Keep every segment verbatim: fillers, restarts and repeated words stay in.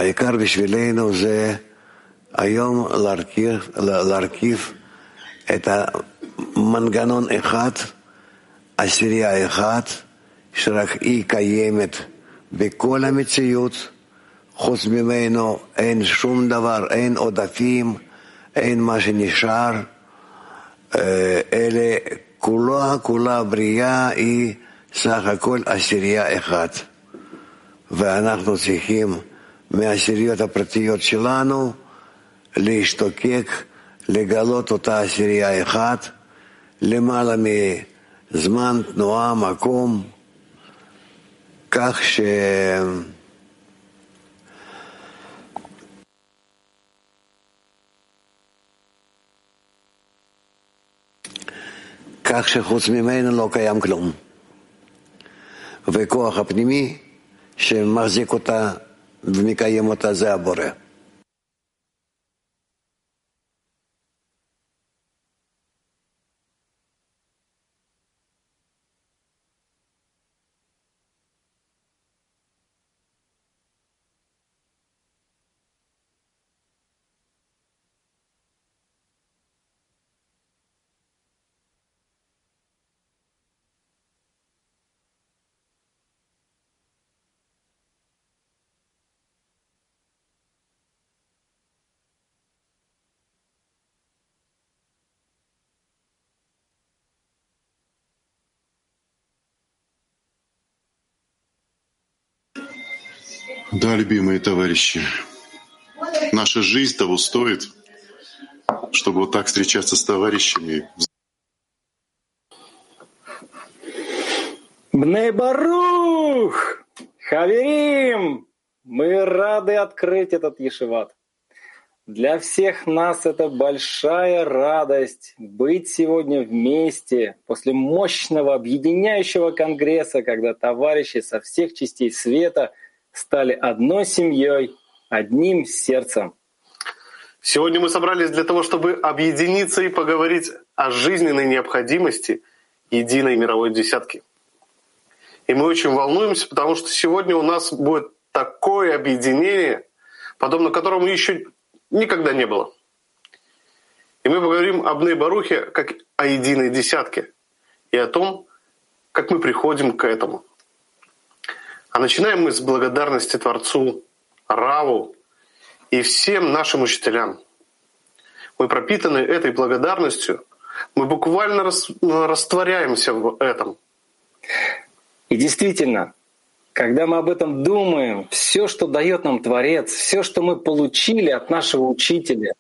העיקר בשבילנו זה היום להרכיב, להרכיב את המנגנון אחד, עשירייה אחת, שרק היא קיימת בכל המציאות, חוץ ממנו אין שום דבר, אין עודפים, אין מה שנשאר, אלה כולה, כולה בריאה היא סך הכל עשירייה אחת. ואנחנו צריכים מהעשיריות הפרטיות שלנו להשתוקק, לגלות אותה עשירייה אחת, למעלה מזמן, תנועה, מקום, כך ש... כך שחוץ ממנו לא קיים כלום. וכוח הפנימי שמחזיק אותה ומקיים אותה זה הבורא. Да, любимые товарищи, наша жизнь того стоит, чтобы вот так встречаться с товарищами. Бней Барух! Хаверим! Мы рады открыть этот ешиват. Для всех нас это большая радость быть сегодня вместе после мощного объединяющего конгресса, когда товарищи со всех частей света стали одной семьей, одним сердцем. Сегодня мы собрались для того, чтобы объединиться и поговорить о жизненной необходимости единой мировой десятки. И мы очень волнуемся, потому что сегодня у нас будет такое объединение, подобно которому еще никогда не было. И мы поговорим об Бней Барухе как о единой десятке и о том, как мы приходим к этому. А начинаем мы с благодарности Творцу, Раву и всем нашим учителям. Мы пропитаны этой благодарностью, мы буквально растворяемся в этом. И действительно, когда мы об этом думаем, все, что дает нам Творец, все, что мы получили от нашего учителя,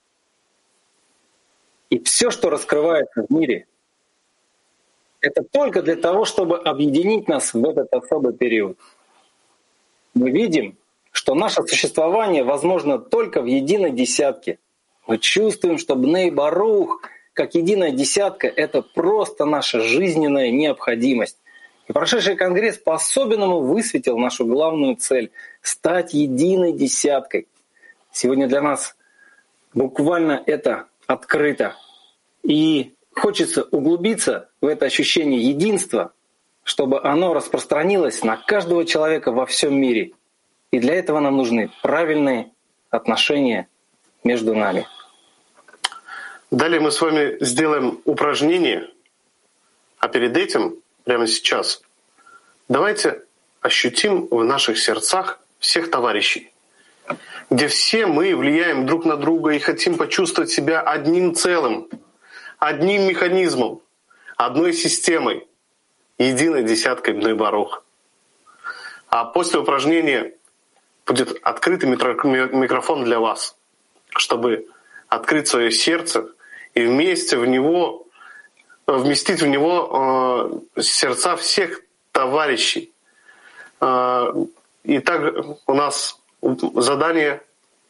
и все, что раскрывается в мире, это только для того, чтобы объединить нас в этот особый период. Мы видим, что наше существование возможно только в единой десятке. Мы чувствуем, что Бней Барух, как единая десятка, это просто наша жизненная необходимость. И прошедший конгресс по-особенному высветил нашу главную цель — стать единой десяткой. Сегодня для нас буквально это открыто. И хочется углубиться в это ощущение единства, чтобы оно распространилось на каждого человека во всем мире. И для этого нам нужны правильные отношения между нами. Далее мы с вами сделаем упражнение, а перед этим, прямо сейчас, давайте ощутим в наших сердцах всех товарищей, где все мы влияем друг на друга и хотим почувствовать себя одним целым, одним механизмом, одной системой, единой десяткой Бней Барух. А после упражнения будет открытый микрофон для вас, чтобы открыть свое сердце и вместе в него, вместить в него э, сердца всех товарищей. Э, итак, у нас задание: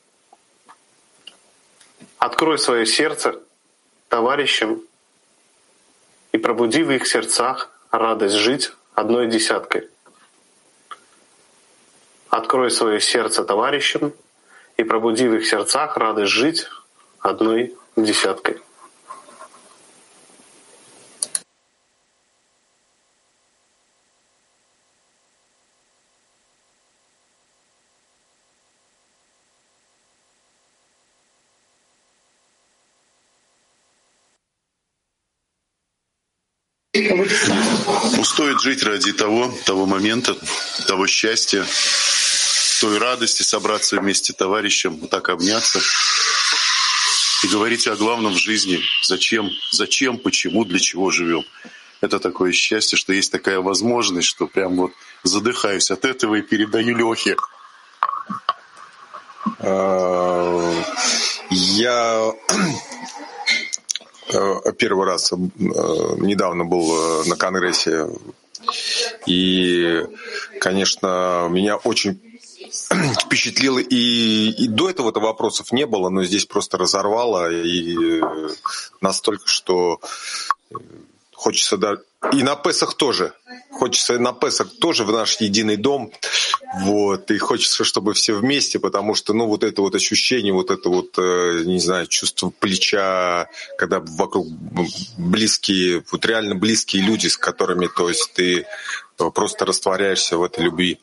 открой свое сердце товарищам и пробуди в их сердцах радость жить одной десяткой. Открой свое сердце товарищам и пробуди в их сердцах радость жить одной десяткой. Ну, стоит жить ради того, того момента, того счастья, той радости собраться вместе с товарищем, вот так обняться и говорить о главном в жизни. Зачем, зачем, почему, для чего живем. Это такое счастье, что есть такая возможность, что прям вот задыхаюсь от этого и передаю Лехе. Я первый раз недавно был на Конгрессе, и, конечно, меня очень впечатлило, и, и до этого-то вопросов не было, но здесь просто разорвало, и настолько, что хочется, да, и на Песах тоже, хочется на Песах тоже в наш единый дом, вот, и хочется, чтобы все вместе, потому что, ну, вот это вот ощущение, вот это вот, не знаю, чувство плеча, когда вокруг близкие, вот реально близкие люди, с которыми, то есть ты просто растворяешься в этой любви.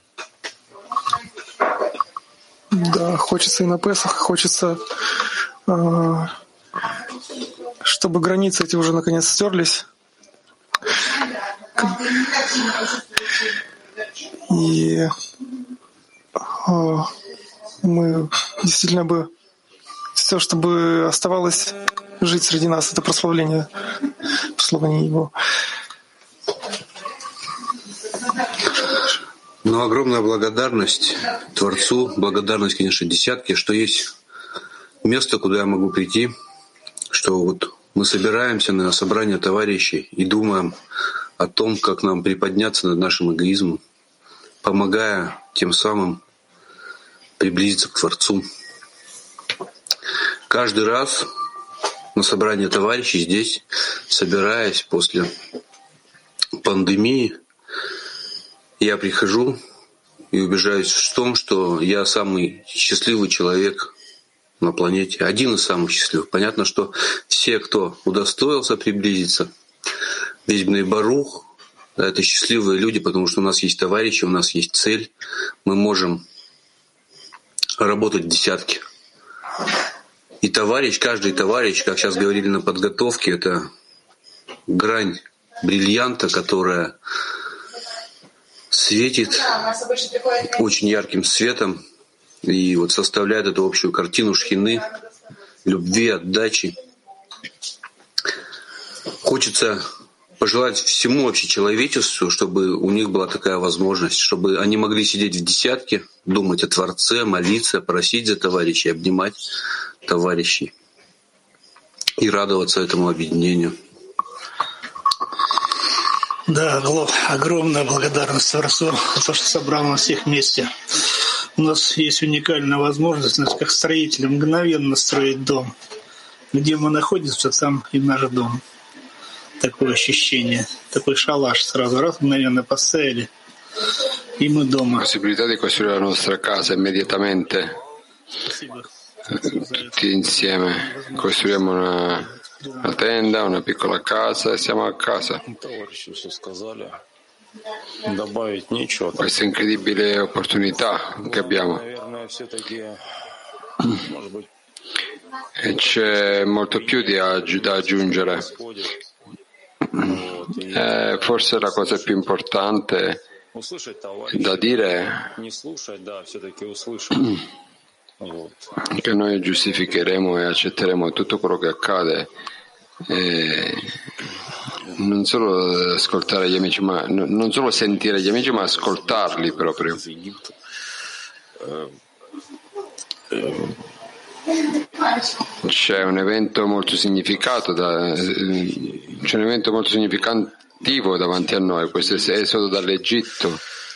Да, хочется и на Песах, хочется, чтобы границы эти уже наконец стерлись. И мы действительно бы все, чтобы оставалось жить среди нас, это прославление, прославление Его. Ну, огромная благодарность Творцу, благодарность, конечно, десятке, что есть место, куда я могу прийти, что вот мы собираемся на собрание товарищей и думаем о том, как нам приподняться над нашим эгоизмом, помогая тем самым приблизиться к Творцу. Каждый раз на собрание товарищей здесь, собираясь после пандемии, я прихожу и убеждаюсь в том, что я самый счастливый человек на планете, один из самых счастливых. Понятно, что все, кто удостоился приблизиться, весь Бней Барух, это счастливые люди, потому что у нас есть товарищи, у нас есть цель, мы можем работать в десятке. И товарищ, каждый товарищ, как сейчас говорили на подготовке, это грань бриллианта, которая светит очень ярким светом и вот составляет эту общую картину шхины, любви, отдачи. Хочется пожелать всему общечеловечеству, чтобы у них была такая возможность, чтобы они могли сидеть в десятке, думать о Творце, молиться, просить за товарищей, обнимать товарищей и радоваться этому объединению. Да, Глоб, огромная благодарность Творцу за то, что собрал нас всех вместе. У нас есть уникальная возможность, нас как строители, мгновенно строить дом. Где мы находимся, там и наш дом. Такое ощущение, такой шалаш сразу, раз мгновенно поставили, и мы дома. Possibilità di costruire la nostra casa immediatamente, tutti insieme. Costruiamo una, una tenda, una piccola casa e siamo a casa. Questa incredibile opportunità che abbiamo. E c'è molto più di aggi- da aggiungere. Eh, forse la cosa più importante da dire è che noi giustificheremo e accetteremo tutto quello che accade, e non solo ascoltare gli amici, ma non solo sentire gli amici, ma ascoltarli proprio. C'è un evento molto significato da, c'è un evento molto significativo davanti a noi, questo esodo dall'Egitto.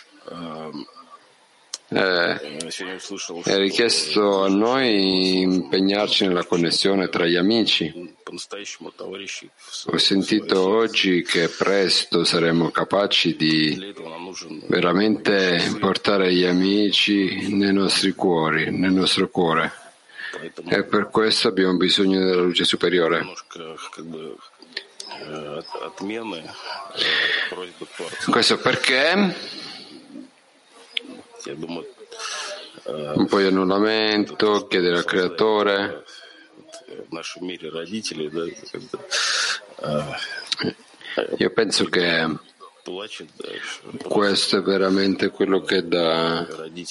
Eh, è richiesto a noi impegnarci nella connessione tra gli amici. Ho sentito oggi che presto saremo capaci di veramente portare gli amici nei nostri cuori, nel nostro cuore. E per questo abbiamo bisogno della luce superiore. Questo perché un po' di annullamento, chiedere al creatore. Io penso che questo è veramente quello che dà,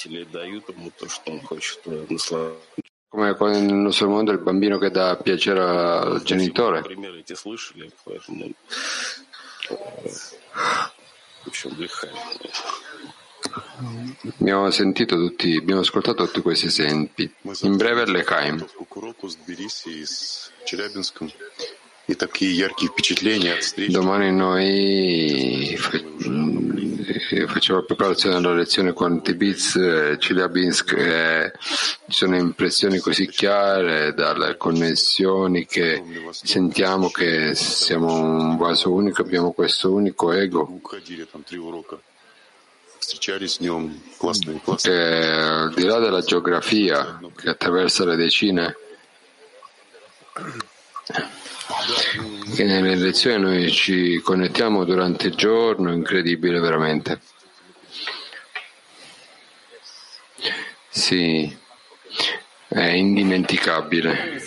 come nel nostro mondo il bambino che dà piacere al genitore. Abbiamo sentito tutti, abbiamo ascoltato tutti questi esempi. In breve l'Echaim. Domani noi facciamo preparazione della lezione con Tibitz, Chelyabinsk, e ci sono impressioni così chiare dalle connessioni che sentiamo che siamo un vaso unico, abbiamo questo unico ego che al di là della geografia che attraversa le decine, che nelle lezioni noi ci connettiamo durante il giorno, incredibile veramente. Sì, è indimenticabile.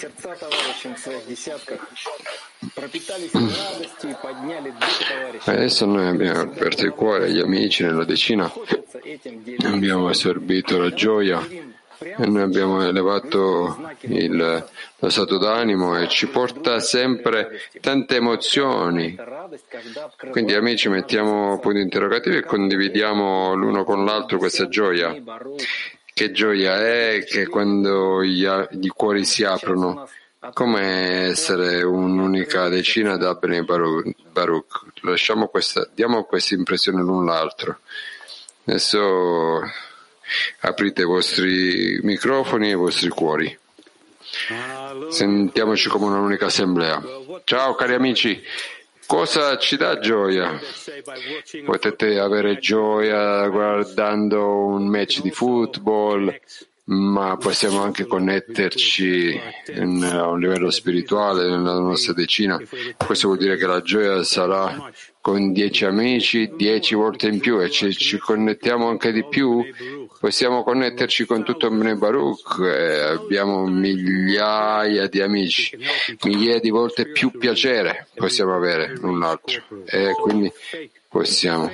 Adesso noi abbiamo aperto il cuore agli amici nella decina, abbiamo assorbito la gioia e noi abbiamo elevato il, lo stato d'animo e ci porta sempre tante emozioni. Quindi amici, mettiamo punti interrogativi e condividiamo l'uno con l'altro questa gioia. Che gioia è che quando gli, gli cuori si aprono, come essere un'unica decina da Bnei Baruch. Lasciamo questa, diamo questa impressione l'un l'altro. Adesso aprite i vostri microfoni e i vostri cuori. Sentiamoci come un'unica assemblea. Ciao cari amici, cosa ci dà gioia? Potete avere gioia guardando un match di football, ma possiamo anche connetterci in, a un livello spirituale nella nostra decina. Questo vuol dire che la gioia sarà con dieci amici, dieci volte in più, e ci, ci connettiamo anche di più. Possiamo connetterci con tutto Bnei Baruch e abbiamo migliaia di amici, migliaia di volte più piacere possiamo avere l'un l'altro, e quindi possiamo.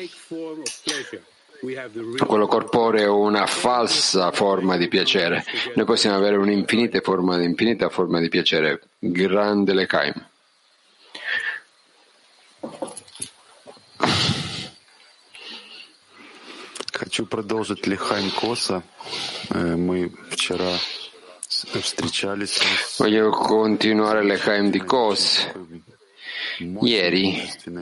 Quello corporeo è una falsa forma di piacere. Noi possiamo avere un'infinita forma, infinita forma di piacere. Grande l'Echaim. Хочу продолжить Лехайм Коса. Мы вчера встречались. Voglio continuare l'Echaim di Kos. Ieri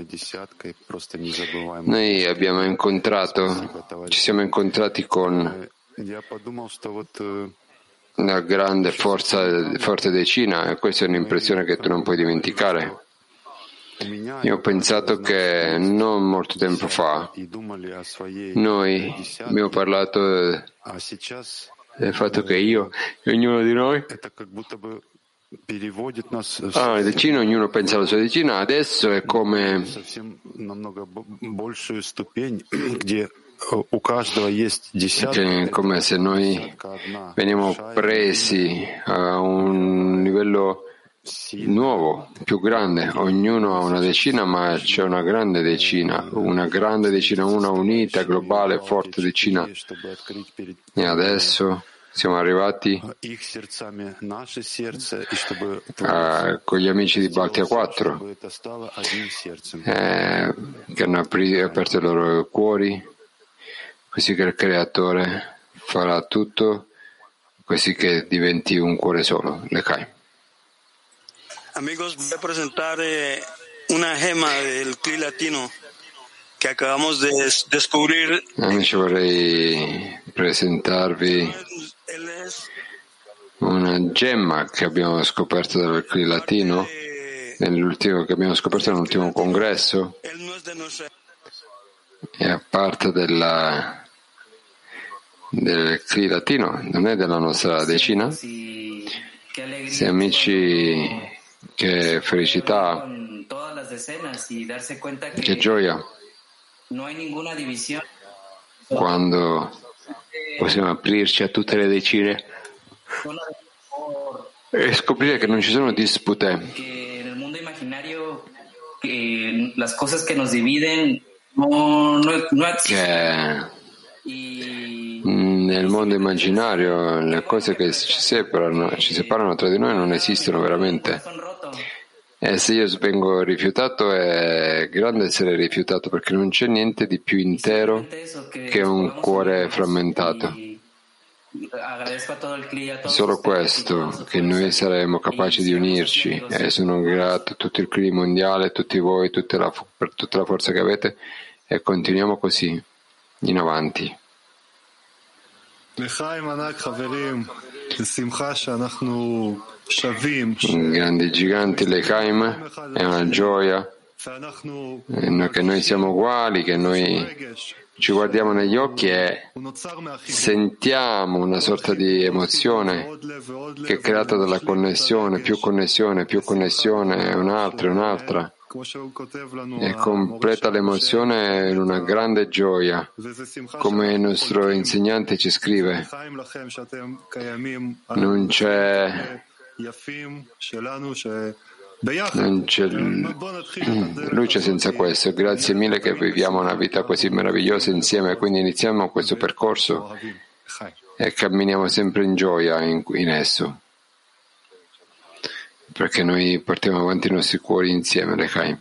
noi abbiamo incontrato, ci siamo incontrati con una grande forza, forte decina, e questa è un'impressione che tu non puoi dimenticare. Io ho pensato che non molto tempo fa noi abbiamo parlato del fatto che io e ognuno di noi Ah, la decina, ognuno pensa alla sua decina, adesso è come che, come se noi veniamo presi a un livello nuovo, più grande. Ognuno ha una decina, ma c'è una grande decina, una grande decina, una unita, globale, forte decina. E adesso siamo arrivati a, con gli amici di Baltia quattro eh, che hanno apri, aperto i loro cuori, così che il Creatore farà tutto così che diventi un cuore solo, l'Echaim. Amigos, voy a presentare una gema del Cli Latino che acabamos de descubrir. Amici, vorrei presentarvi una gemma che abbiamo scoperto dal Cli Latino, nell'ultimo, che abbiamo scoperto nell'ultimo congresso, è a parte della, del Cli Latino, non è della nostra decina. Se amici, che felicità, che gioia quando possiamo aprirci a tutte le decine e scoprire che non ci sono dispute, che las cosas que nos dividen no, no, no existen. Nel mondo immaginario le cose che ci separano, ci separano tra di noi non esistono veramente. E se io vengo rifiutato è grande essere rifiutato, perché non c'è niente di più intero che un cuore frammentato. Solo questo, che noi saremo capaci di unirci, e sono grato a tutto il clima mondiale, a tutti voi, tutta la, per tutta la forza che avete, e continuiamo così, in avanti. Grandi giganti, Lechaim, è una gioia che noi siamo uguali, che noi ci guardiamo negli occhi e sentiamo una sorta di emozione che è creata dalla connessione, più connessione, più connessione, un'altra, un'altra, e completa l'emozione in una grande gioia, come il nostro insegnante ci scrive. Non c'è Non c'è luce senza questo. Grazie mille che viviamo una vita così meravigliosa insieme, quindi iniziamo questo percorso e camminiamo sempre in gioia in, in esso, perché noi portiamo avanti i nostri cuori insieme, Lechaim.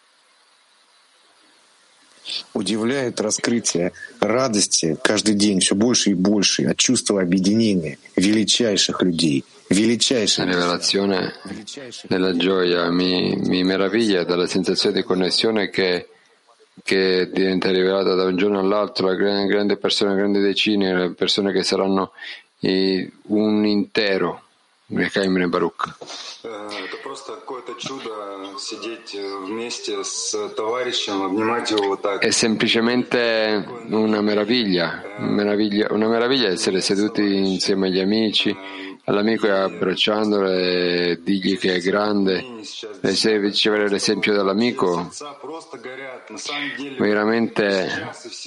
Удивляет раскрытие радости каждый день все больше и больше от чувства объединения величайших людей. La rivelazione della gioia mi, mi meraviglia dalla sensazione di connessione che, che diventa rivelata da un giorno all'altro, la grande, grande persone, grandi decine, le persone che saranno i, un intero. Lechaim Bnei Baruch. Это просто какое-то чудо сидеть вместе с товарищем, обнимать его вот так. È semplicemente una meraviglia, meraviglia, una meraviglia essere seduti insieme agli amici, all'amico e abbracciandolo e dirgli che è grande, e se ricevere l'esempio dall'amico, veramente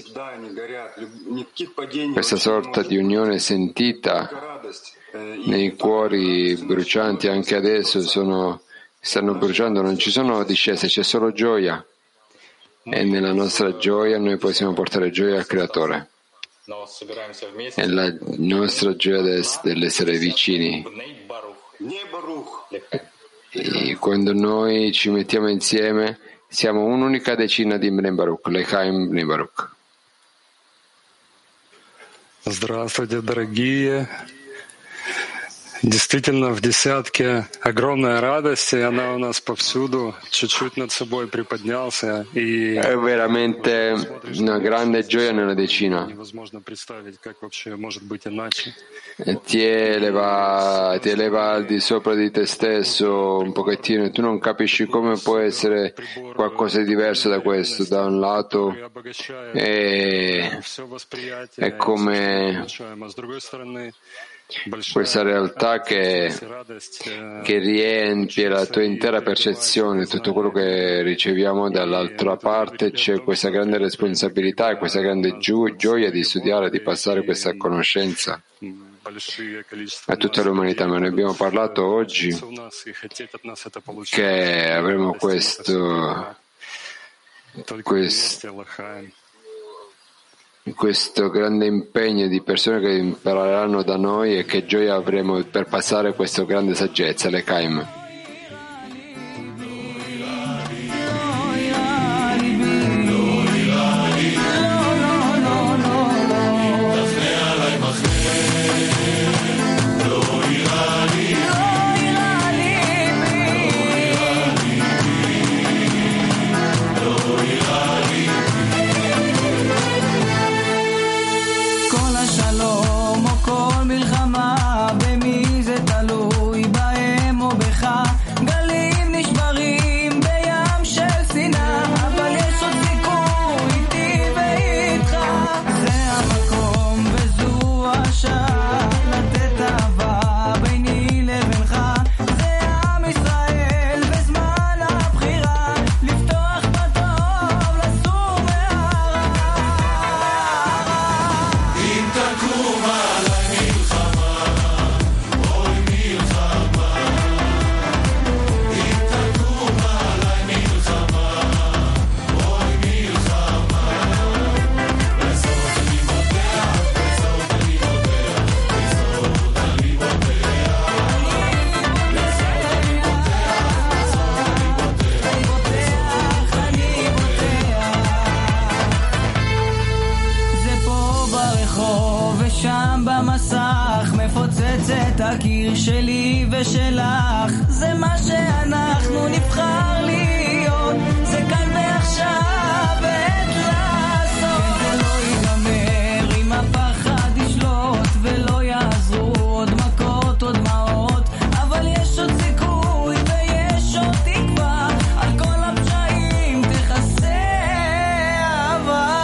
questa sorta di unione sentita nei cuori brucianti anche adesso sono, stanno bruciando, non ci sono discese, c'è solo gioia, e nella nostra gioia noi possiamo portare gioia al Creatore. È la nostra gioia dell'essere vicini. E quando noi ci mettiamo insieme siamo un'unica decina di Bnei Baruch, Lechaim Bnei Baruch. Здравствуйте, дорогие. Действительно, в десятке огромная радость, и она у нас повсюду. Чуть-чуть над собой приподнялся. И è veramente una grande gioia nella decina. Невозможно представить, как вообще может быть иначе. Ti eleva, ti eleva al di sopra di te stesso un pochettino, e tu non capisci come può essere qualcosa di diverso da questo. Da un lato è, è come questa realtà che, che riempie la tua intera percezione, tutto quello che riceviamo. Dall'altra parte c'è questa grande responsabilità e questa grande gio- gioia di studiare, di passare questa conoscenza a tutta l'umanità. Ma ne abbiamo parlato oggi, che avremo questo, questo questo grande impegno di persone che impareranno da noi, e che gioia avremo per passare questa grande saggezza, Lechaim. במי זה תלוי בהם או בך הקיר שלי ושלך, זה מה שאנחנו נבחר להיות, זה כאן ועכשיו עת לעשות. זה לא ייגמר אם הפחד ישלוט ולא יעזרו עוד מכות עוד דמעות, אבל יש עוד סיכוי ויש עוד תקווה, על כל הפשעים תכסה אהבה.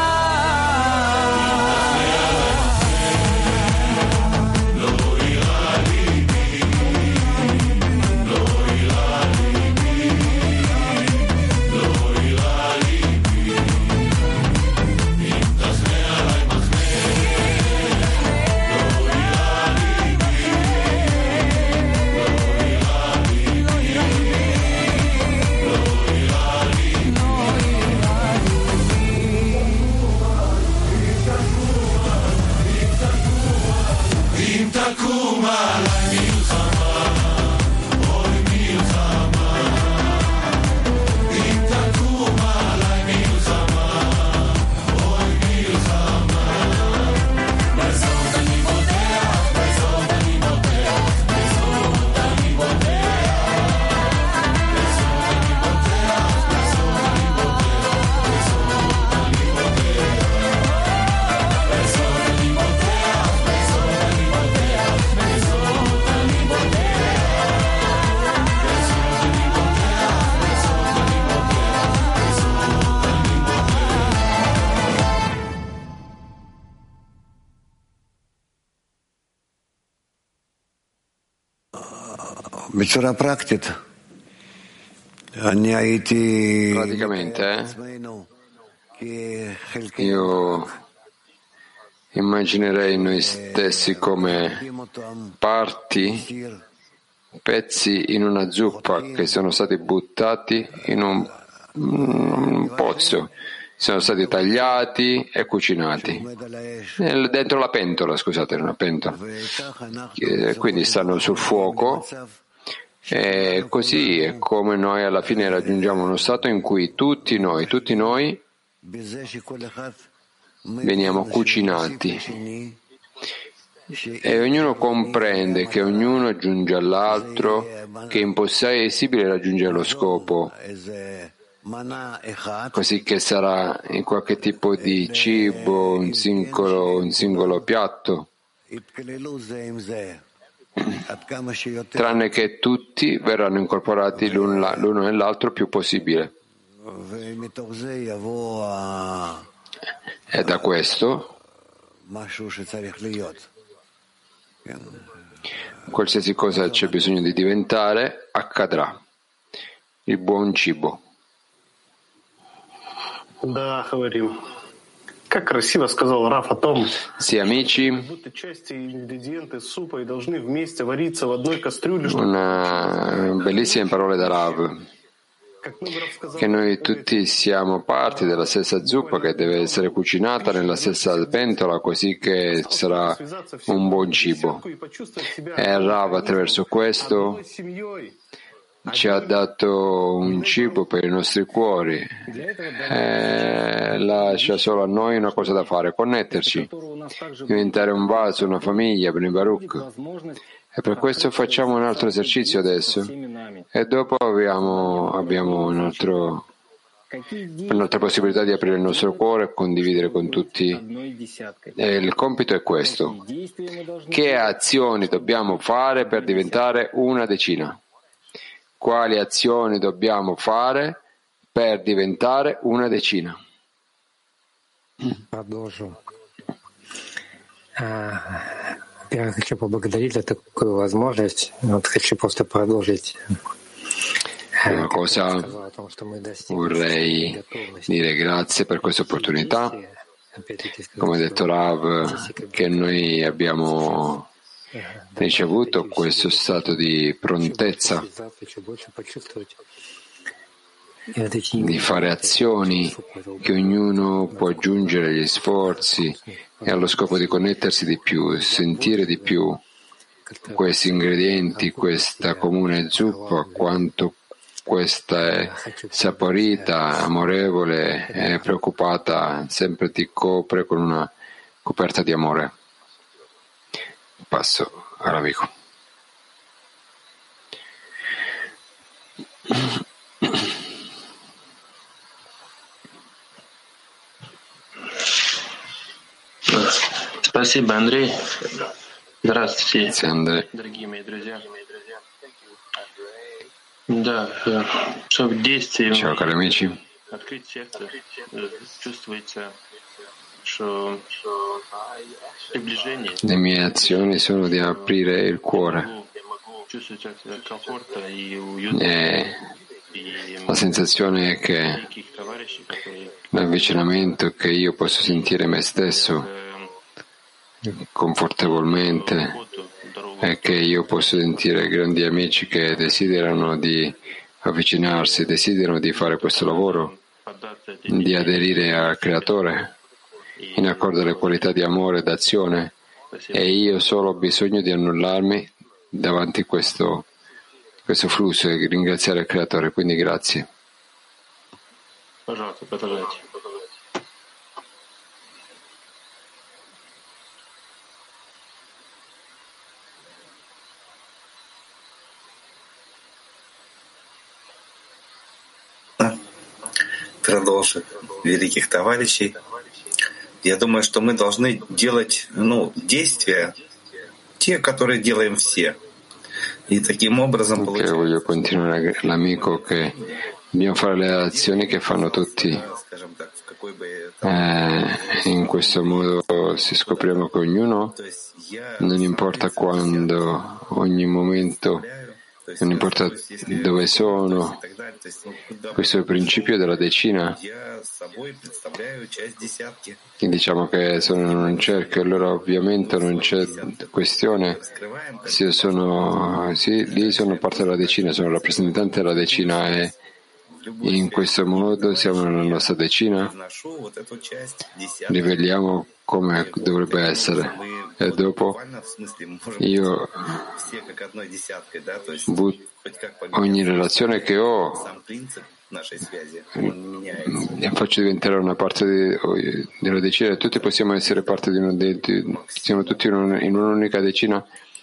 Praticamente eh, io immaginerei noi stessi come parti, pezzi in una zuppa che sono stati buttati in un, un pozzo, sono stati tagliati e cucinati dentro la pentola, scusate, una pentola, quindi stanno sul fuoco. E così è come noi alla fine raggiungiamo uno stato in cui tutti noi, tutti noi veniamo cucinati e ognuno comprende che ognuno aggiunge all'altro, che è impossibile raggiungere lo scopo, così che sarà in qualche tipo di cibo, un singolo, un singolo piatto, tranne che tutti verranno incorporati l'uno, l'uno nell'altro più possibile. E da questo qualsiasi cosa c'è bisogno di diventare accadrà. Il buon cibo. Да, говорим. Как красиво сказал Раф о том, sì, amici, будто части и ингредиенты супа и должны вместе вариться в одной кастрюле. Una bellissime parole da Rav, che noi tutti siamo parti della stessa zuppa che deve essere cucinata nella stessa pentola, così che sarà un buon cibo. E Rav attraverso questo ci ha dato un cibo per i nostri cuori e lascia solo a noi una cosa da fare: connetterci, diventare un vaso, una famiglia, Bnei Baruch. E per questo facciamo un altro esercizio adesso e dopo abbiamo, abbiamo un altro, un'altra possibilità di aprire il nostro cuore e condividere con tutti. E il compito è questo: che azioni dobbiamo fare per diventare una decina? Quali azioni dobbiamo fare per diventare una decina? Продолжу. Я хочу поблагодарить за такую возможность. Вот хочу просто продолжить. Prima cosa vorrei dire grazie per questa opportunità. Come ha detto Rav, che noi abbiamo ricevuto questo stato di prontezza di fare azioni che ognuno può aggiungere agli sforzi e allo scopo di connettersi di più, sentire di più questi ingredienti, questa comune zuppa, quanto questa è saporita, amorevole e preoccupata, sempre ti copre con una coperta di amore. Passo all'amico. Спасибо, Андрей. Здравствуйте, Andrei. дорогие мои друзья. Да, что в действии Ciao cari amici. открыть сердце, чувствуется, что приближение. Le mie azioni sono di aprire il cuore. E la sensazione è che l'avvicinamento che io posso sentire me stesso confortevolmente e che io posso sentire grandi amici che desiderano di avvicinarsi, desiderano di fare questo lavoro, di aderire al Creatore in accordo alle qualità di amore e d'azione, e io solo ho bisogno di annullarmi davanti a questo, questo flusso e ringraziare il Creatore, quindi grazie. Продолжим великих товарищей. Я думаю, что мы должны делать, ну, действия, те, которые делаем все. И таким образом Perché voglio continuare l'amico che dobbiamo fare le azioni che fanno tutti. Eh, in questo modo si scopriamo che ognuno, non importa quando, ogni momento, non importa dove sono, questo è il principio della decina. E diciamo che sono in un cerchio, allora ovviamente non c'è questione se io sono, sì, lì sono parte della decina, sono rappresentante della decina e in questo modo siamo nella nostra decina, riveliamo come dovrebbe essere e dopo io ogni relazione che ho e faccio diventare una parte di, della decina e tutti possiamo essere parte di, uno di, di siamo tutti in, un, in un'unica decina.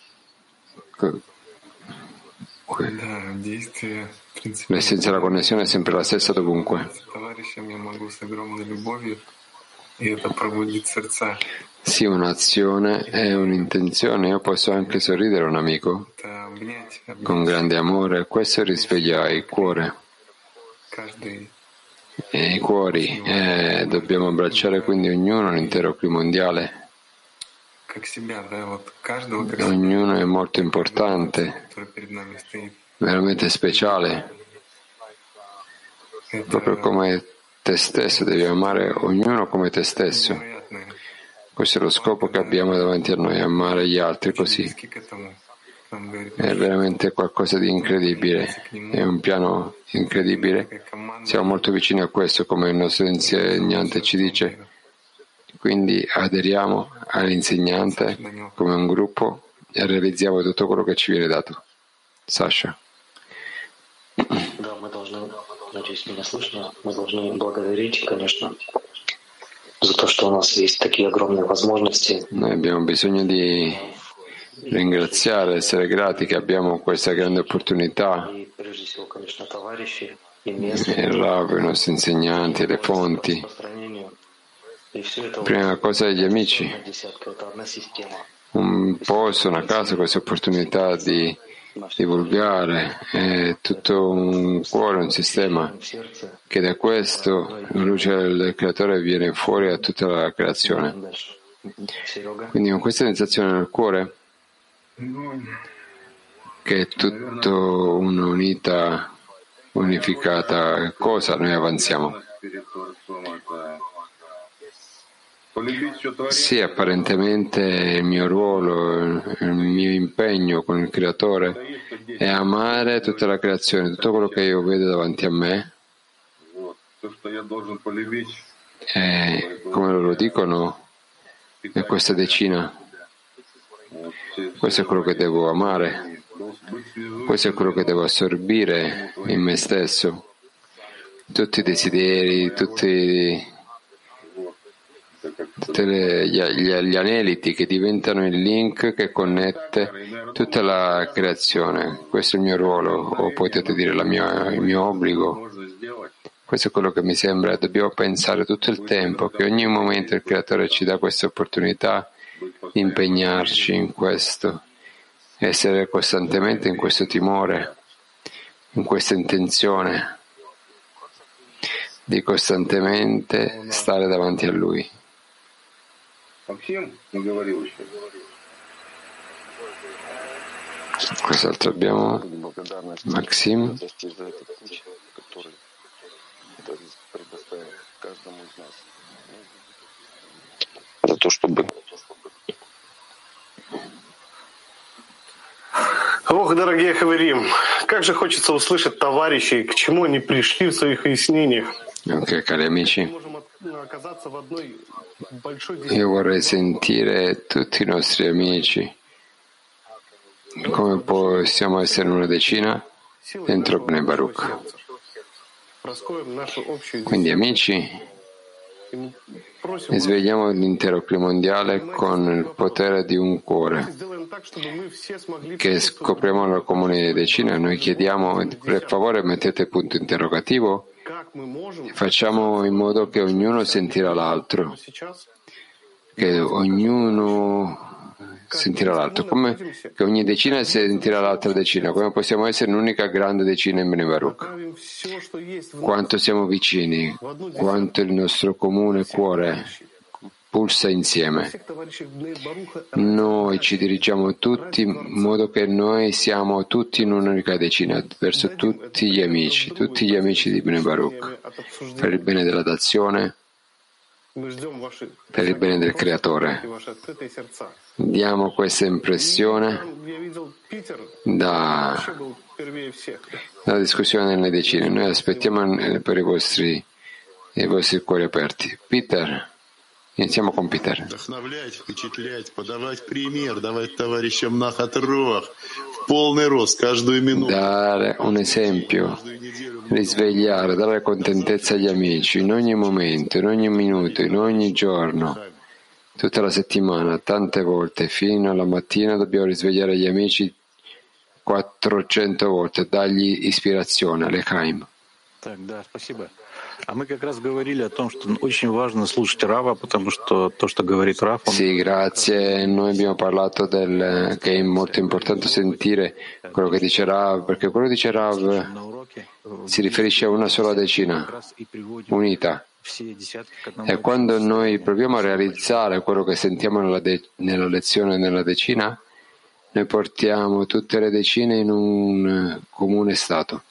L'essenza della connessione è sempre la stessa dovunque. Sì, un'azione è un'intenzione. Io posso anche sorridere a un amico con grande amore. Questo risveglia il cuore e i cuori. E dobbiamo abbracciare quindi ognuno l'intero clima mondiale. Ognuno è molto importante, veramente speciale. Proprio come te stesso, devi amare ognuno come te stesso. Questo è lo scopo che abbiamo davanti a noi, amare gli altri così. È veramente qualcosa di incredibile, è un piano incredibile. Siamo molto vicini a questo, come il nostro insegnante ci dice. Quindi aderiamo all'insegnante come un gruppo e realizziamo tutto quello che ci viene dato. Sasha. Да, мы должны, надеюсь, меня слышно, мы должны благодарить, конечно, за то, что у нас есть такие огромные возможности. Noi abbiamo bisogno di ringraziare, essere grati che abbiamo questa grande opportunità. Il Rav, i nostri insegnanti, le fonti. Prima cosa gli amici. Un posto, una casa, questa opportunità di divulgare, è tutto un cuore, un sistema che da questo la luce del creatore viene fuori a tutta la creazione. Quindi con questa sensazione nel cuore che è tutto un'unità, unificata cosa, noi avanziamo. Sì, apparentemente il mio ruolo, il mio impegno con il Creatore è amare tutta la creazione, tutto quello che io vedo davanti a me. E come loro dicono, è questa decina. Questo è quello che devo amare. Questo è quello che devo assorbire in me stesso. Tutti i desideri, tutti tutti gli, gli, gli aneliti che diventano il link che connette tutta la creazione. Questo è il mio ruolo, o potete dire la mia, il mio obbligo. Questo è quello che mi sembra. Dobbiamo pensare tutto il tempo che ogni momento il Creatore ci dà questa opportunità di impegnarci in questo, essere costantemente in questo timore, in questa intenzione di costantemente stare davanti a Lui. Cos'altro abbiamo? Maxim. За то, чтобы Ох, дорогие хаверим, как же хочется услышать товарищей, к чему они пришли в своих выяснениях. Ok, cari amici, io vorrei sentire tutti i nostri amici. Come possiamo essere una decina dentro Bnei Baruch? Quindi amici, svegliamo l'intero clima mondiale con il potere di un cuore che scopriamo la comune decina. Noi chiediamo, per favore mettete punto interrogativo e facciamo in modo che ognuno sentirà l'altro, che ognuno sentirà l'altro, come che ogni decina sentirà l'altra decina. Come possiamo essere un'unica grande decina in Bnei Baruch? Quanto siamo vicini, quanto il nostro comune cuore pulsa insieme. Noi ci dirigiamo tutti in modo che noi siamo tutti in un'unica decina verso tutti gli amici, tutti gli amici di Bnei Baruch, per il bene della dazione, per il bene del Creatore. Diamo questa impressione da, dalla discussione nelle decine. Noi aspettiamo per i vostri, i vostri cuori aperti. Peter, iniziamo con Peter. Dare un esempio, risvegliare, dare contentezza agli amici in ogni momento, in ogni minuto, in ogni giorno, tutta la settimana, tante volte, fino alla mattina dobbiamo risvegliare gli amici quattrocento volte, dargli ispirazione, l'Echaim. А мы как раз говорили о том, что очень важно слушать Рава, потому что то, что говорит Рав... Он... Sì, grazie. Noi abbiamo parlato del che è molto importante sentire quello che dice Rav, perché quello che dice Rav si riferisce a una sola decina, unita. E quando noi proviamo a realizzare quello che sentiamo nella, de- nella lezione nella decina, noi portiamo tutte le decine in un comune stato.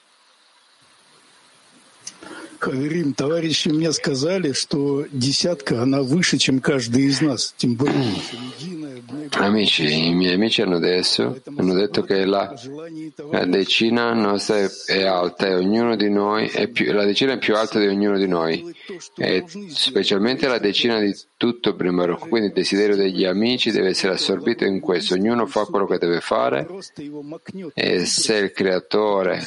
Хаверим, товарищи мне сказали, что десятка, она выше, чем каждый из нас. Тем более, Amici, i miei amici hanno, adesso, hanno detto che la, la decina nostra è, è alta e ognuno di noi è più, la decina è più alta di ognuno di noi, e specialmente la decina di tutto Bnei Baruch. Quindi il desiderio degli amici deve essere assorbito in questo. Ognuno fa quello che deve fare, e se il Creatore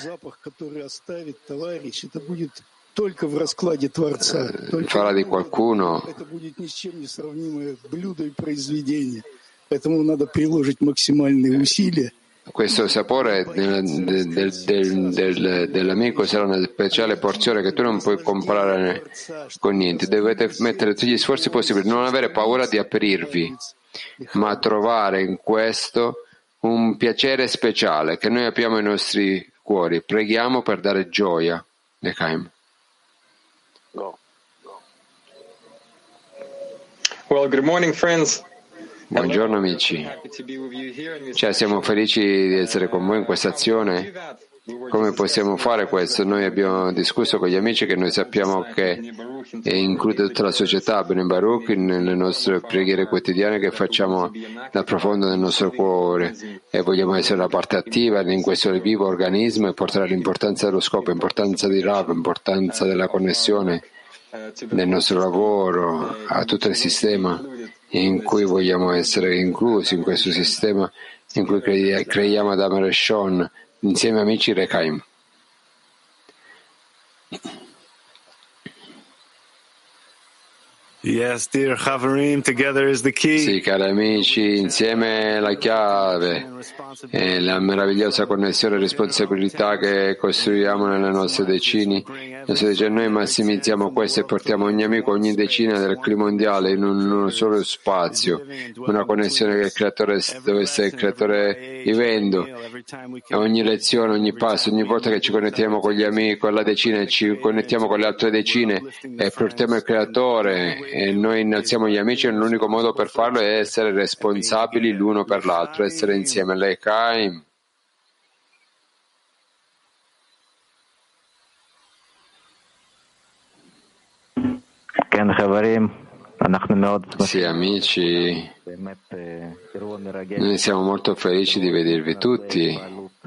только в раскладе Творца, farà di qualcuno это будет ни с чем не сравнимое блюдо и произведение. Поэтому надо приложить максимальные усилия. Questo sapore del, del, del, del, dell'amico sarà una speciale porzione che tu non puoi comprare con niente. Dovete mettere tutti gli sforzi possibili, non avere paura di aprirvi, ma trovare in questo un piacere speciale che noi apriamo i nostri cuori. Preghiamo per dare gioia. L'Echaim. Well, good morning, friends. Buongiorno amici, cioè, siamo felici di essere con voi in questa azione. Come possiamo fare questo? Noi abbiamo discusso con gli amici che noi sappiamo che include tutta la società Bnei Baruch nelle nostre preghiere quotidiane che facciamo dal profondo del nostro cuore, e vogliamo essere la parte attiva in questo vivo organismo e portare l'importanza dello scopo, l'importanza di Rav, l'importanza della connessione del nostro lavoro a tutto il sistema in cui vogliamo essere inclusi in questo sistema in cui creiamo Adam Reshon insieme amici L'Echaim. Yes, dear Chavarim, together is the key. Sì, cari amici, insieme è la chiave, è la meravigliosa connessione e responsabilità che costruiamo nelle nostre decine. Noi massimizziamo questo e portiamo ogni amico, ogni decina del clima mondiale in un, uno solo spazio, una connessione che il creatore, dove sta il creatore vivendo. Ogni lezione, ogni passo, ogni volta che ci connettiamo con gli amici, con la decina e ci connettiamo con le altre decine e portiamo il creatore e noi innalziamo gli amici, l'unico modo per farlo è essere responsabili l'uno per l'altro, essere insieme. L'Echaim. Sì, amici, noi siamo molto felici di vedervi tutti.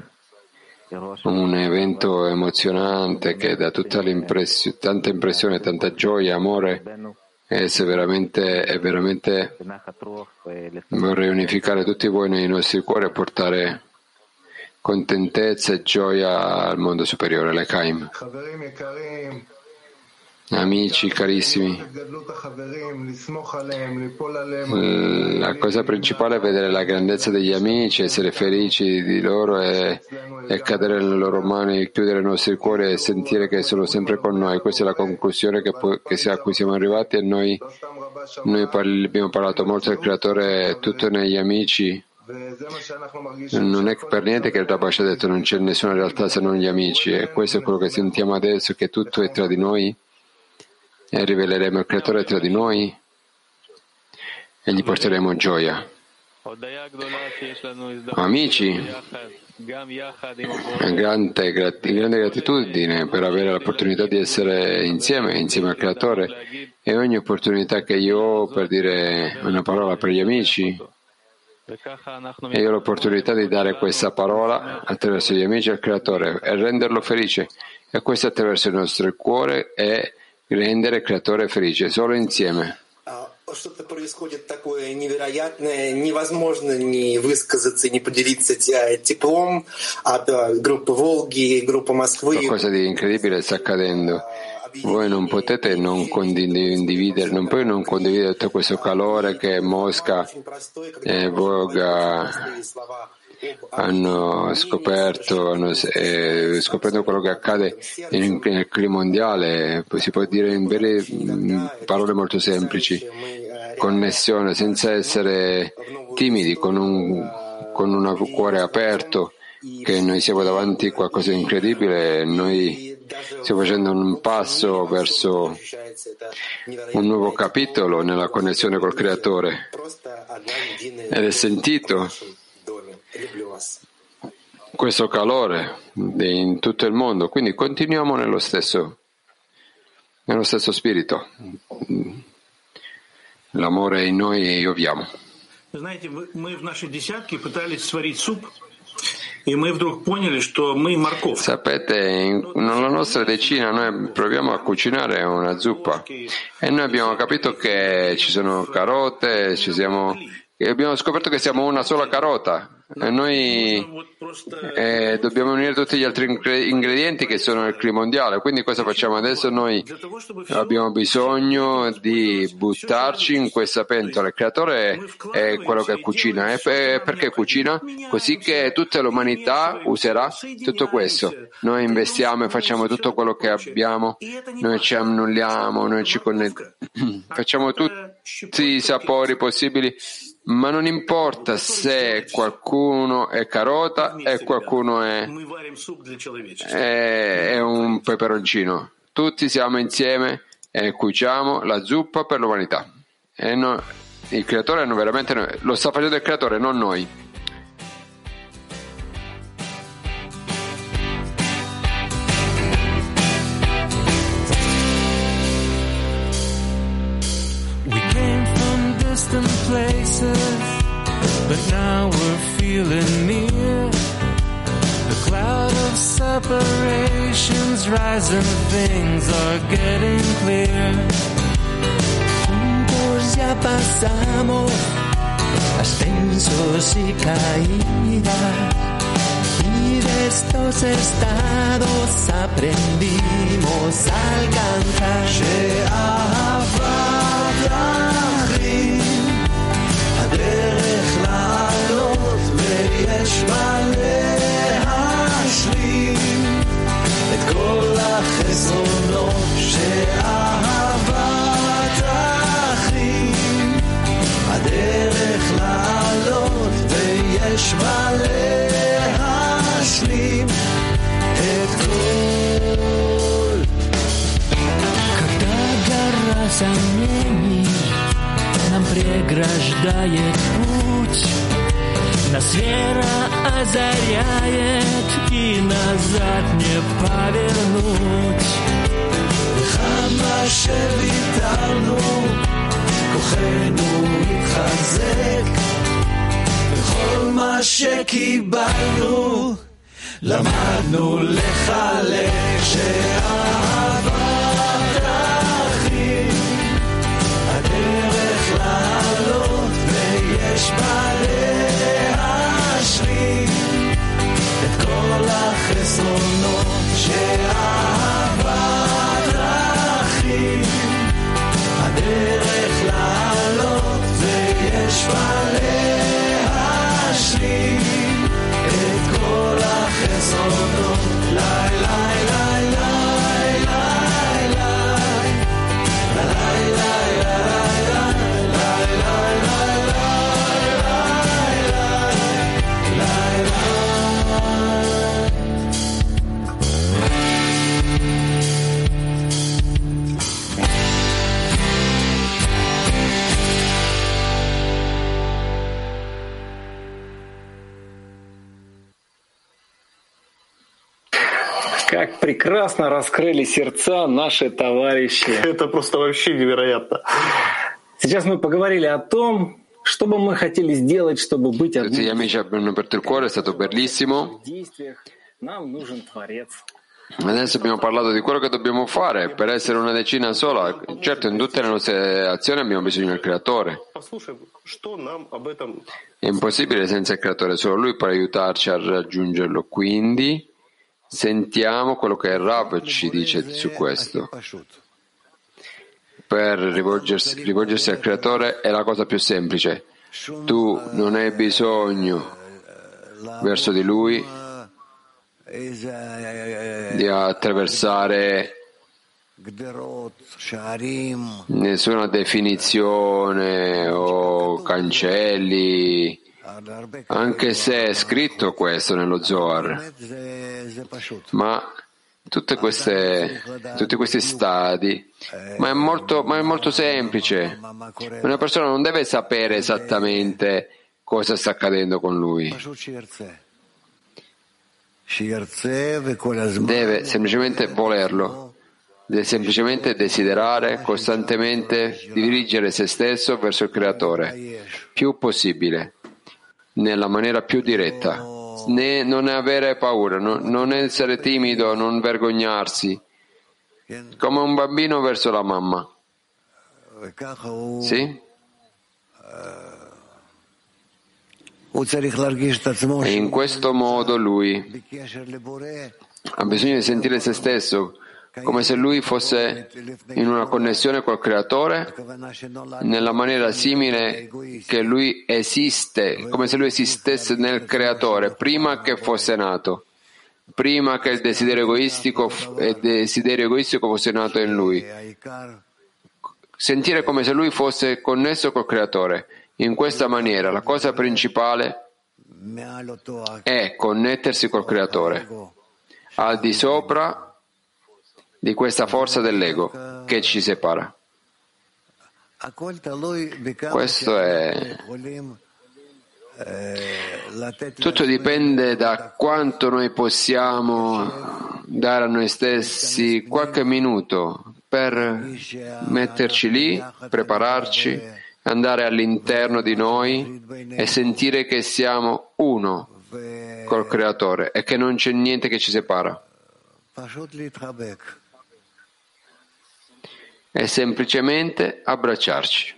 Un evento emozionante che dà tutta l'impressione, tanta impressione, tanta gioia, amore. E se veramente, è veramente vorrei unificare tutti voi nei nostri cuori e portare contentezza e gioia al mondo superiore, l'Echaim. Amici carissimi, la cosa principale è vedere la grandezza degli amici, essere felici di loro e, e cadere nelle loro mani, chiudere i nostri cuori e sentire che sono sempre con noi. Questa è la conclusione che, che a cui siamo arrivati e noi, noi parli, abbiamo parlato molto del Creatore, tutto negli amici. Non è per niente che il Rabbi ci ha detto non c'è nessuna realtà se non gli amici, e questo è quello che sentiamo adesso, che tutto è tra di noi. E riveleremo il Creatore tra di noi e gli porteremo gioia. Amici, grande, grande gratitudine per avere l'opportunità di essere insieme, insieme al Creatore, e ogni opportunità che io ho per dire una parola per gli amici, e io ho l'opportunità di dare questa parola attraverso gli amici al Creatore e renderlo felice, e questo attraverso il nostro cuore e rendere il Creatore felice, solo insieme. Что-то происходит такое невероятное, невозможно не высказаться, не поделиться теплом от группы Волги, группы Москвы. Qualcosa di incredibile sta accadendo. Voi non potete non condividere, non puoi non condividere tutto questo calore che Mosca e Volga hanno scoperto, hanno eh, scoperto quello che accade in, nel clima mondiale. Si può dire in vere parole molto semplici: connessione, senza essere timidi, con un, con un cuore aperto, che noi siamo davanti a qualcosa di incredibile. Noi stiamo facendo un passo verso un nuovo capitolo nella connessione col Creatore, ed è sentito questo calore in tutto il mondo, quindi continuiamo nello stesso, nello stesso spirito. L'amore è in noi e io viamo. Sapete, nella nostra decina noi proviamo a cucinare una zuppa e noi abbiamo capito che ci sono carote, ci siamo, e abbiamo scoperto che siamo una sola carota. E noi eh, dobbiamo unire tutti gli altri ingredienti che sono il clima mondiale. Quindi cosa facciamo adesso? Noi abbiamo bisogno di buttarci in questa pentola. Il Creatore è quello che cucina. E perché cucina? Così che tutta l'umanità userà tutto questo. Noi investiamo e facciamo tutto quello che abbiamo, noi ci annulliamo, noi ci connettiamo, facciamo tutti i sapori possibili. Ma non importa se qualcuno è carota e qualcuno è, è, è un peperoncino. Tutti siamo insieme e cuociamo la zuppa per l'umanità. E no, il Creatore non veramente noi, lo sta facendo il Creatore, non noi. Places, but now we're feeling near. The cloud of separations rising, things are getting clear. Juntos ya pasamos ascensos y caídas, y de estos estados aprendimos a alcanzar. сомнений нам преграждает путь. Нас вера озаряет, и назад не повернуть. וכמה שוויתרנו, כוחנו התחזק, וכל מה שקיבלנו, למדנו לחלק, שאהבת אחים, הדרך לעלות, ויש בה להשלים את כל החסרונות, שאהבת אחים, הדרך לעלות, ויש בה להשלים את כל החסרונות. לי לי לי לי לי Как прекрасно раскрыли сердца наши товарищи. Это просто вообще невероятно. Сейчас мы поговорили о том, что бы мы хотели сделать, чтобы быть одним. Tutti gli amici hanno aperto il cuore, è stato bellissimo. В действиях нам нужен Творец. Adesso abbiamo parlato di quello che dobbiamo fare per essere una decina sola. Certo, in tutte le nostre azioni abbiamo bisogno del Creatore. È impossibile senza il Creatore, solo Lui può aiutarci a raggiungerlo. Quindi sentiamo quello che il Rav ci dice su questo. Per rivolgersi, rivolgersi al Creatore è la cosa più semplice. Tu non hai bisogno verso di Lui di attraversare nessuna definizione o cancelli, anche se è scritto questo nello Zohar, ma tutte queste, tutti questi stadi, ma è molto, ma è molto semplice. Una persona non deve sapere esattamente cosa sta accadendo con lui. Deve semplicemente volerlo, deve semplicemente desiderare costantemente di dirigere se stesso verso il Creatore, più possibile, nella maniera più diretta, né, non avere paura, non, non essere timido, non vergognarsi, come un bambino verso la mamma. Sì? E in questo modo lui ha bisogno di sentire se stesso come se lui fosse in una connessione col Creatore nella maniera simile che lui esiste, come se lui esistesse nel Creatore prima che fosse nato, prima che il desiderio egoistico il desiderio egoistico fosse nato in lui. Sentire come se lui fosse connesso col Creatore. In questa maniera la cosa principale è connettersi col Creatore, al di sopra di questa forza dell'ego che ci separa. Questo è... Tutto dipende da quanto noi possiamo dare a noi stessi qualche minuto per metterci lì, prepararci, andare all'interno di noi e sentire che siamo uno col Creatore e che non c'è niente che ci separa. E semplicemente abbracciarci.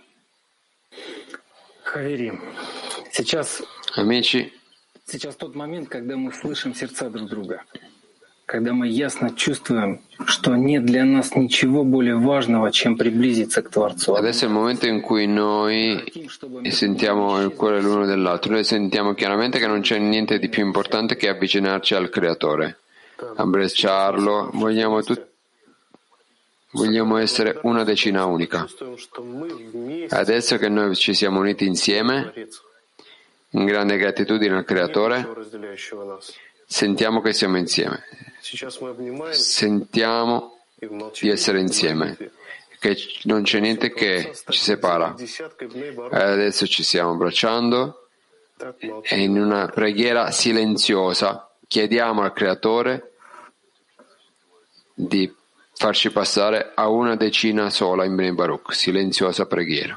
Amici, сейчас тот момент, когда мы слышим сердца друг друга, когда мы ясно чувствуем, что нет для нас ничего более важного, чем приблизиться к Творцу. Adesso è il momento in cui noi sentiamo il cuore l'uno dell'altro, noi sentiamo chiaramente che non c'è niente di più importante che avvicinarci al Creatore, abbracciarlo, vogliamo tutti. Vogliamo essere una decina unica. Adesso che noi ci siamo uniti insieme, in grande gratitudine al Creatore, sentiamo che siamo insieme. Sentiamo di essere insieme. che non c'è niente che ci separa. E adesso ci stiamo abbracciando e in una preghiera silenziosa chiediamo al Creatore di farci passare a una decina sola in Bnei Baruch. Silenziosa preghiera.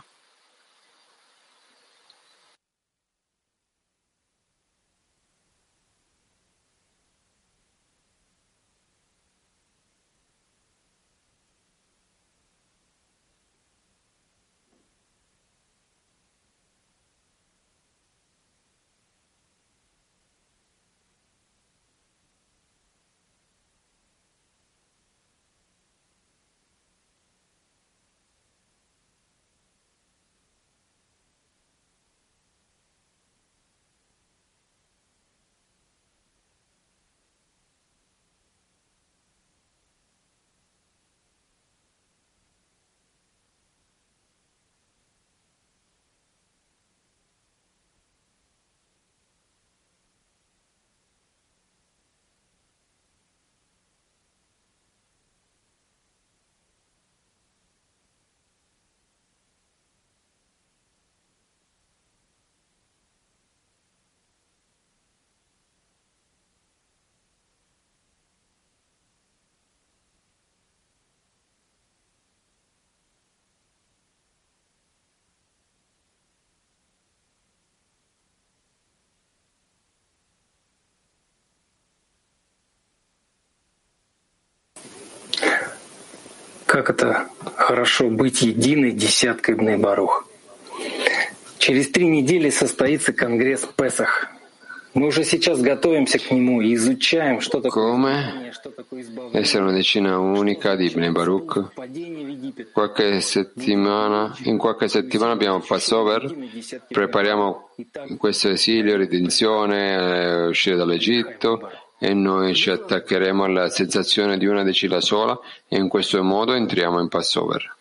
Как это хорошо быть единой десяткой Бней Барух. Через три недели состоится конгресс Песах. Мы уже сейчас готовимся к нему и изучаем, что такое, что такое избавление. Essere una decina unica di Bnei Baruch. Qualche settimana, in qualche settimana abbiamo Passover, prepariamo questo esilio, redenzione, uscire dall'Egitto, e noi ci attaccheremo alla sensazione di una decina sola e in questo modo entriamo in Passover,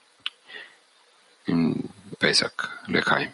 in Pesach, L'Chaim.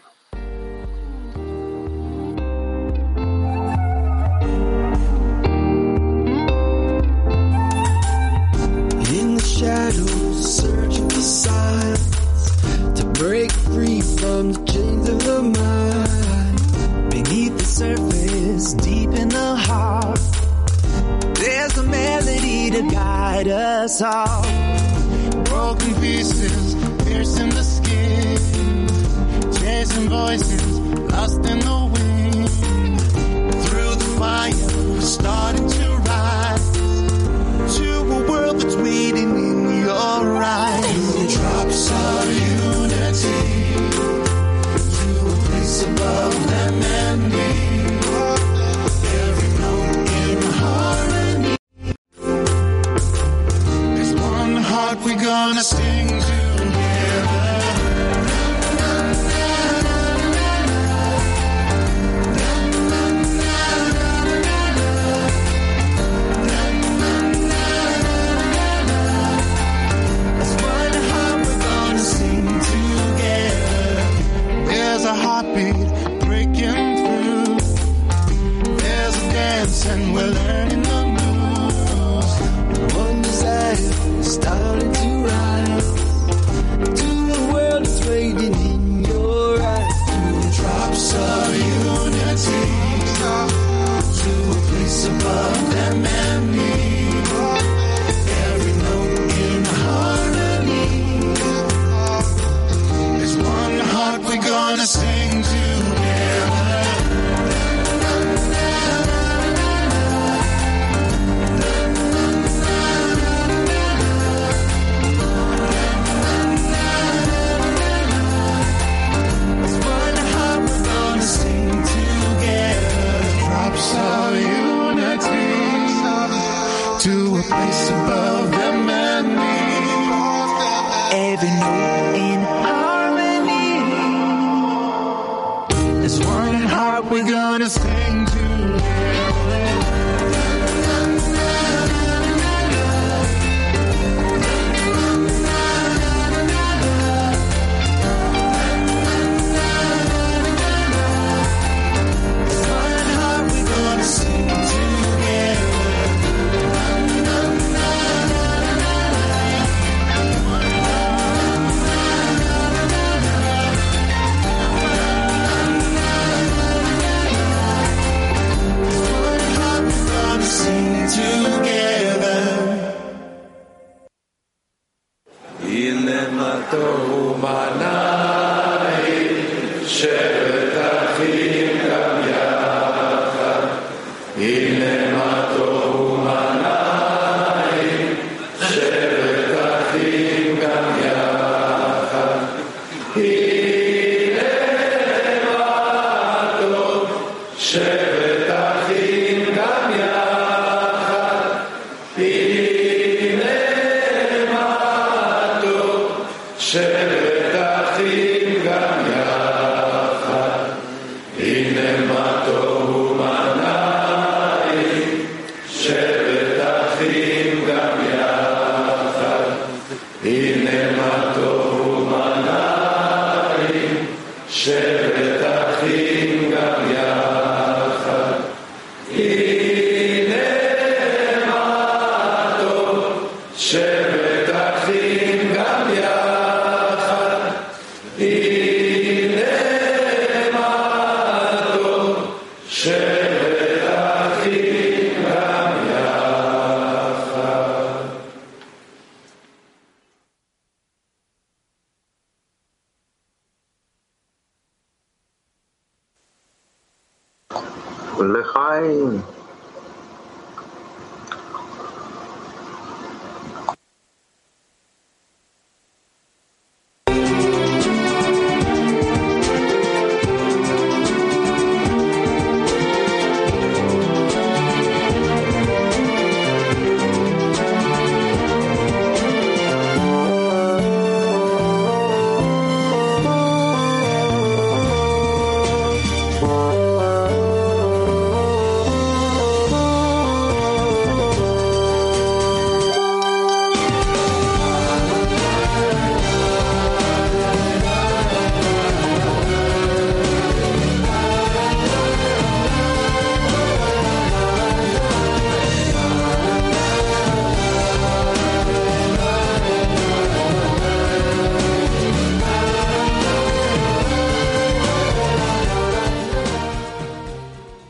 In the shadows, searching for signs to break free from the chains of the mind. Beneath the surface, deep in the heart, there's a melody to guide us all. Broken pieces, piercing the skin, chasing voices, lost in the wind. Through the fire, we're starting to rise to a world that's waiting in your eyes. The drops of unity to a place above them and me. Every note in harmony. There's one heart we're gonna sing together. There's a heartbeat breaking through. There's a dance and we're learning the moves. One desire starting to rise to a world that's waiting in your eyes. Through the drops of unity to a place above them and me. Every note in harmony. There's one heart we're gonna sing together. There's one heart we're gonna sing together. Drops of unity to a place above them and me. Every note in harmony. There's one heart we're gonna sing together. There's one heart we're gonna sing together. One L'chaim.